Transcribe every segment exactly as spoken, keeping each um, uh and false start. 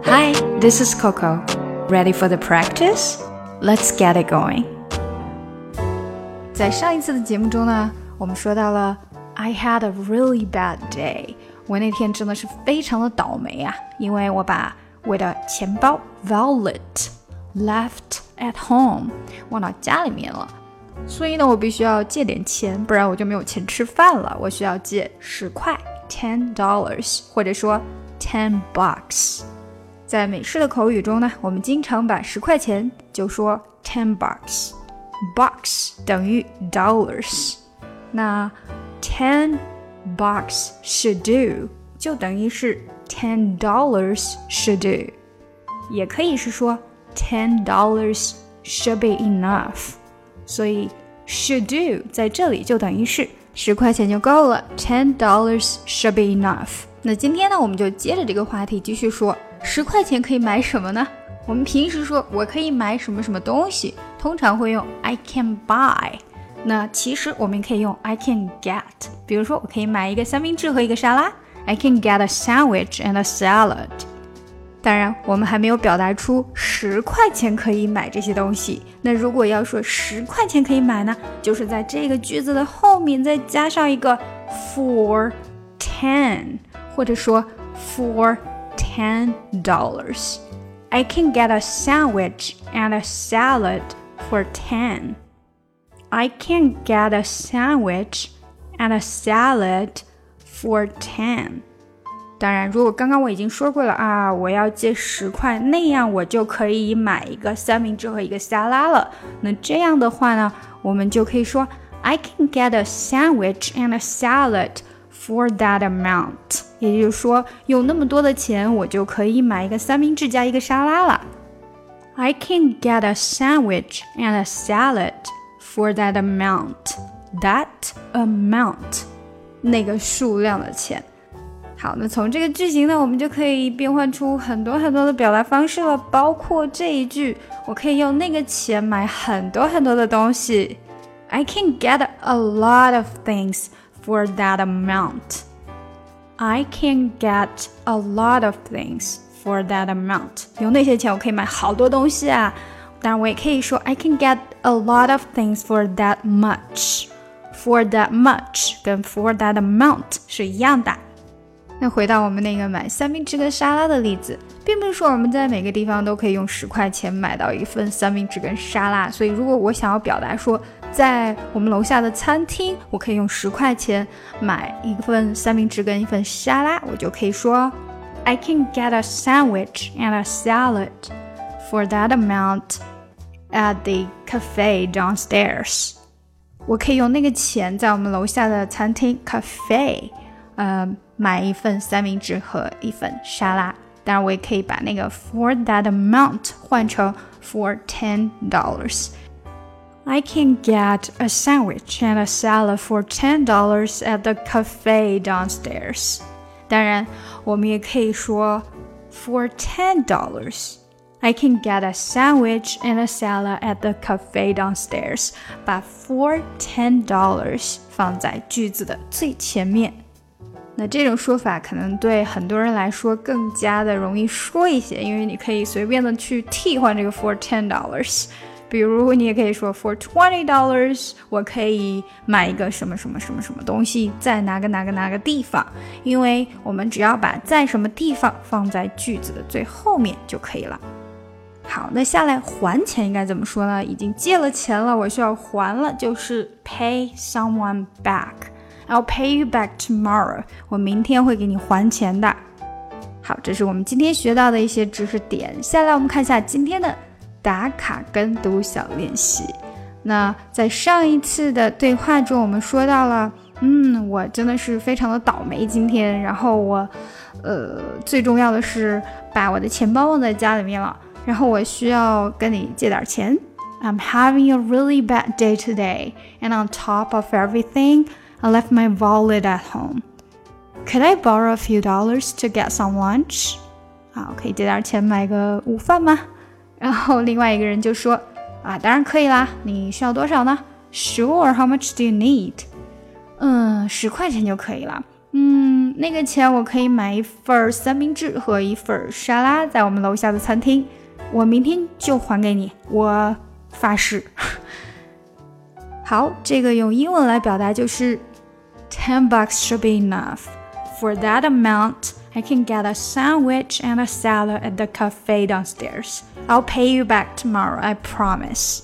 Hi, this is Coco. Ready for the practice? Let's get it going. 在上一次的节目中呢，我们说到了 I had a really bad day. 我那天真的是非常的倒霉啊，因为我把我的钱包 wallet left at home 忘到家里面了，所以呢我必须要借点钱，不然我就没有钱吃饭了。我需要借十块 ten dollars 或者说 ten bucks。 在美式的口语中呢，我们经常把十块钱就说 ten bucks， bucks 等于 dollars， 那 ten bucks should do 就等于是 ten dollars should do， 也可以是说 ten dollars should be enough， 所以 should do 在这里就等于是十块钱就够了， ten dollars should be enough。 那今天呢，我们就接着这个话题继续说，十块钱可以买什么呢？我们平时说我可以买什么什么东西，通常会用 I can buy， 那其实我们可以用 I can get， 比如说我可以买一个三明治和一个沙拉， I can get a sandwich and a salad。 当然我们还没有表达出十块钱可以买这些东西，那如果要说十块钱可以买呢，就是在这个句子的后面再加上一个 for ten， 或者说 for ten dollars。 I can get a sandwich and a salad for ten. I can get a sandwich and a salad for ten. 当然如果刚刚我已经说过了啊，我要借十块，那样我就可以买一个三明治和一个沙拉了。那这样的话呢，我们就可以说 I can get a sandwich and a salad for that amount， 也就是说有那么多的钱，我就可以买一个三明治加一个沙拉了。 I can get a sandwich and a salad for that amount. That amount 那个数量的钱。好，那从这个句型呢，我们就可以变换出很多很多的表达方式了，包括这一句，我可以用那个钱买很多很多的东西。 I can get a lot of things for that amount. I can get a lot of things for that amount. 有那些钱我可以买好多东西啊。当然我也可以说 I can get a lot of things for that much. For that much 跟 for that amount 是一样的。那回到我们那个买三明治跟沙拉的例子，并不是说我们在每个地方都可以用十块钱买到一份三明治跟沙拉，所以如果我想要表达说在我们楼下的餐厅我可以用十块钱买一份三明治跟一份沙拉，我就可以说 I can get a sandwich and a salad for that amount at the cafe downstairs。 我可以用那个钱在我们楼下的餐厅 cafe 呃买一份三明治和一份沙拉。当然我也可以把那个 for that amount 换成 for ten dollars。 I can get a sandwich and a salad for ten dollars at the cafe downstairs。 当然我们也可以说 for ten dollars I can get a sandwich and a salad at the cafe downstairs， 把 for ten dollars 放在句子的最前面。那这种说法可能对很多人来说更加的容易说一些，因为你可以随便的去替换这个 for ten dollars。 比如你也可以说 for twenty dollars 我可以买一个什么什么什么什么东西在哪个哪个哪个地方，因为我们只要把在什么地方放在句子的最后面就可以了。好，那下来还钱应该怎么说呢？已经借了钱了，我需要还了，就是 pay someone back。I'll pay you back tomorrow. 我明天会给你还钱的。好，这是我们今天学到的一些知识点。下来我们看一下今天的打卡跟读小练习。那在上一次的对话中，我们说到了，嗯，我真的是非常的倒霉今天，然后我，呃，最重要的是把我的钱包忘在家里面了，然后我需要跟你借点钱。I'm having a really bad day today, and on top of everything,I left my wallet at home. Could I borrow a few dollars to get some lunch? 好，可以借点钱买个午饭吗？然后另外一个人就说，啊，当然可以啦，你需要多少呢？ Sure, how much do you need? 嗯，十块钱就可以了。 嗯，那个钱我可以买一份三明治和一份沙拉，在我们楼下的餐厅，我明天就还给你，我发誓。好，这个用英文来表达就是 ten bucks should be enough. For that amount, I can get a sandwich and a salad at the cafe downstairs. I'll pay you back tomorrow, I promise.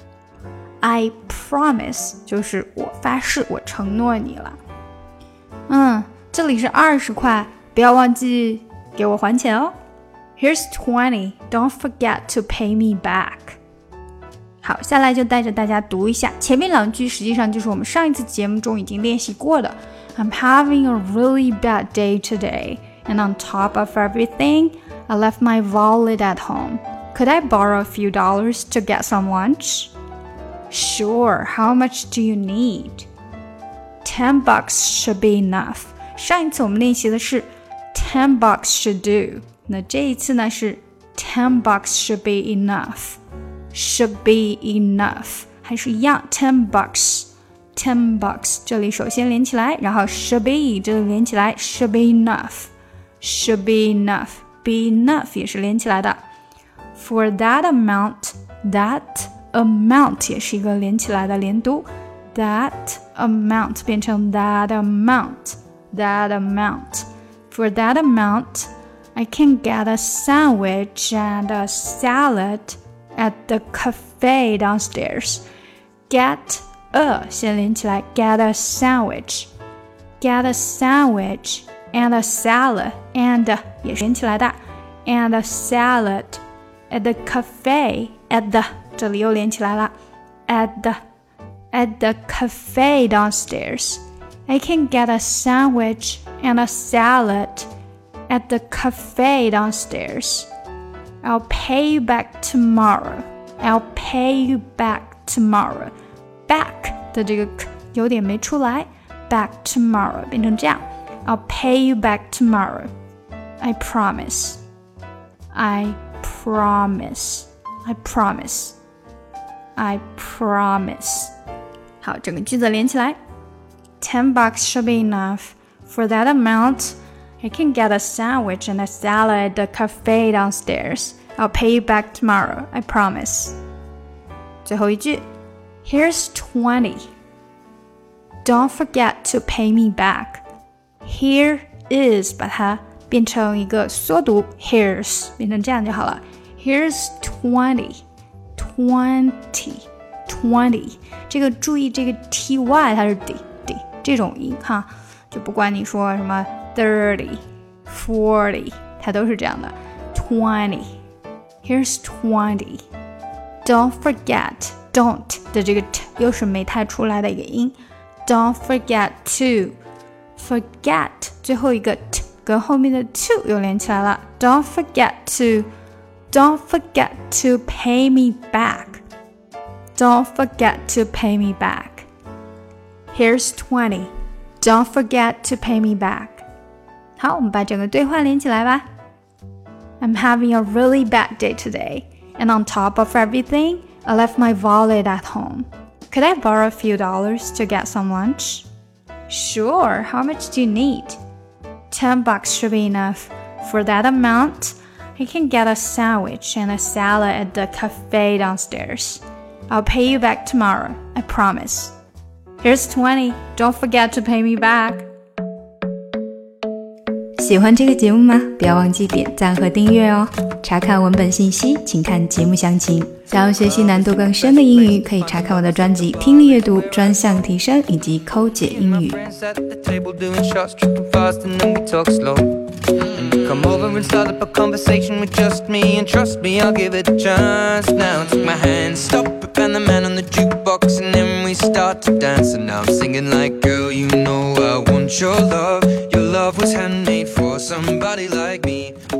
I promise 就是我发誓，我承诺你了。嗯，这里是二十块，不要忘记给我还钱哦。Here's twenty. Don't forget to pay me back. 好，下来就带着大家读一下，前面两句实际上就是我们上一次节目中已经练习过的。I'm having a really bad day today, and on top of everything, I left my wallet at home. Could I borrow a few dollars to get some lunch? Sure, how much do you need? Ten bucks should be enough. 上一次我们练习的是 ten bucks should do. 那这一次呢是 ten bucks should be enough. Should be enough. 还是一样 ten bucks. ten bucks. 这里首先连起来，然后 should be 这里连起来 should be enough. Should be enough. Be enough 也是连起来的。For that amount, that amount 也是一个连起来的连读。That amount 变成 that amount. That amount. For that amount, I can get a sandwich and a salad at the cafe downstairs. Get a 先连起来 get a sandwich. Get a sandwich and a salad and 也是连起来的 and a salad at the cafe at the 这里又连起来了 at the at the cafe downstairs. I can get a sandwich and a salad at the cafe downstairs. I'll pay you back tomorrow. I'll pay you back tomorrow. Back 的这个 k 有点没出来 back tomorrow 变成这样 I'll pay you back tomorrow. I promise. I promise. I promise. I promise. 好，整个句子连起来 ten bucks should be enough. For that amount, I can get a sandwich and a salad at the cafe downstairs. I'll pay you back tomorrow. I promise. 最后一句 Here's twenty. Don't forget to pay me back. Here is 把它变成一个缩读 Here's 变成这样就好了 Here's twenty. Twenty. Twenty. 这个注意这个 ty 它是 d d 这种音哈，就不管你说什么 thirty, forty 它都是这样的 twenty. Here's twenty. Don't forget. Don't 的这个 t 又是没太出来的一个音 Don't forget to. Forget 最后一个 t 跟后面的 to 又连起来了 Don't forget to. Don't forget to pay me back. Don't forget to pay me back. Here's twenty. Don't forget to pay me back. 好，我们把整个对话连起来吧 I'm having a really bad day today. And on top of everything, I left my wallet at home. Could I borrow a few dollars to get some lunch? Sure, how much do you need? Ten bucks should be enough. For that amount, I can get a sandwich and a salad at the cafe downstairs. I'll pay you back tomorrow, I promise. Here's twenty. Don't forget to pay me back. 喜欢这个节目吗？不要忘记点赞和订阅哦。查看文本信息，请看节目详情。想要学习难度更深的英语，可以查看我的专辑《听力阅读专项提升》以及《抠解英语》。Come over and start up a conversation with just me And trust me, I'll give it a chance Now take my hand, stop it, and the man on the jukebox And then we start to dance And now I'm singing like Girl, you know I want your love Your love was handmade for somebody like me